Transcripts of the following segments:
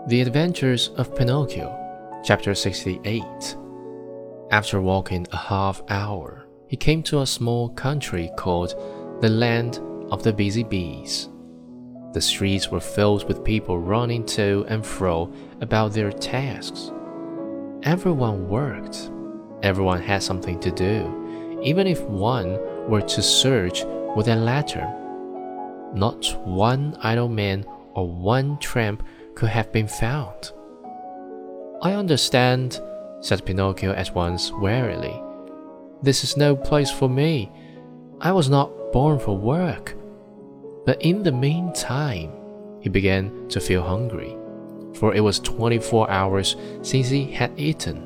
The Adventures of Pinocchio, Chapter 68. After walking a half hour, he came to a small country called the Land of the Busy Bees. The streets were filled with people running to and fro about their tasks. Everyone worked. Everyone had something to do, even if one were to search with a lantern. Not one idle man or one tramp could have been found. "I understand," said Pinocchio at once wearily. "This is no place for me. I was not born for work." But in the meantime, he began to feel hungry, for it was 24 hours since he had eaten.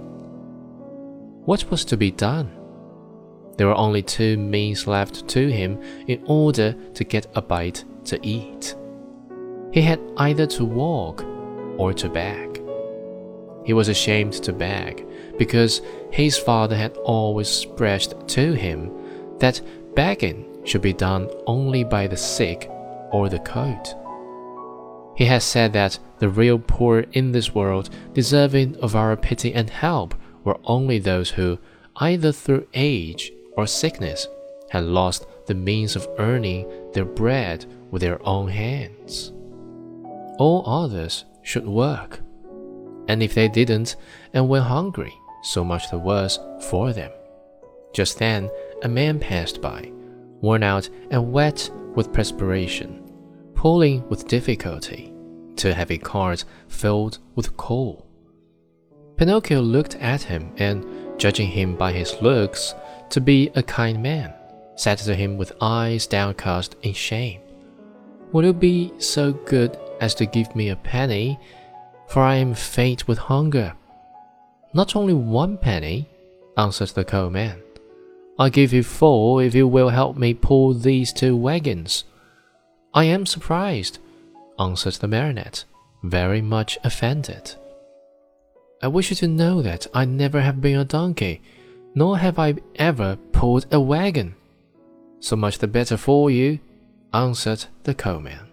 What was to be done? There were only two means left to him in order to get a bite to eat. He had either to walk or to beg. He was ashamed to beg, because his father had always expressed to him that begging should be done only by the sick or the cold. He had said that the real poor in this world, deserving of our pity and help, were only those who, either through age or sickness, had lost the means of earning their bread with their own hands. All others should work, and if they didn't and went hungry, so much the worse for them. Just then a man passed by, worn out and wet with perspiration, pulling with difficulty two heavy carts filled with coal. Pinocchio looked at him and, judging him by his looks to be a kind man, said to him with eyes downcast in shame, "Will you be so good as to give me a penny, for I am faint with hunger?" "Not only 1 penny," answered the coalman. "I'll give you 4 if you will help me pull these 2 wagons." "I am surprised," answered the marionette, very much offended. "I wish you to know that I never have been a donkey, nor have I ever pulled a wagon." "So much the better for you," answered the coalman.